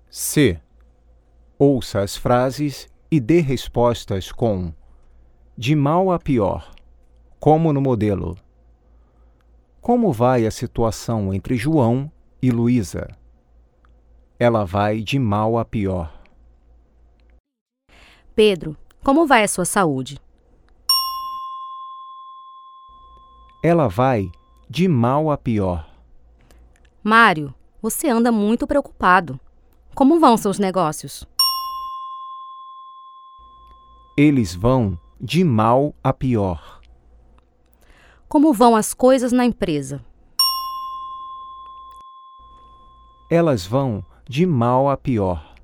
C. Ouça as frases e dê respostas com de mal a pior, como no modelo. Como vai a situação entre João e Luísa? Ela vai de mal a pior. Pedro, como vai a sua saúde? Ela vai de mal a pior. Mário, você anda muito preocupado. Como vão seus negócios? Eles vão de mal a pior. Como vão as coisas na empresa? Elas vão de mal a pior.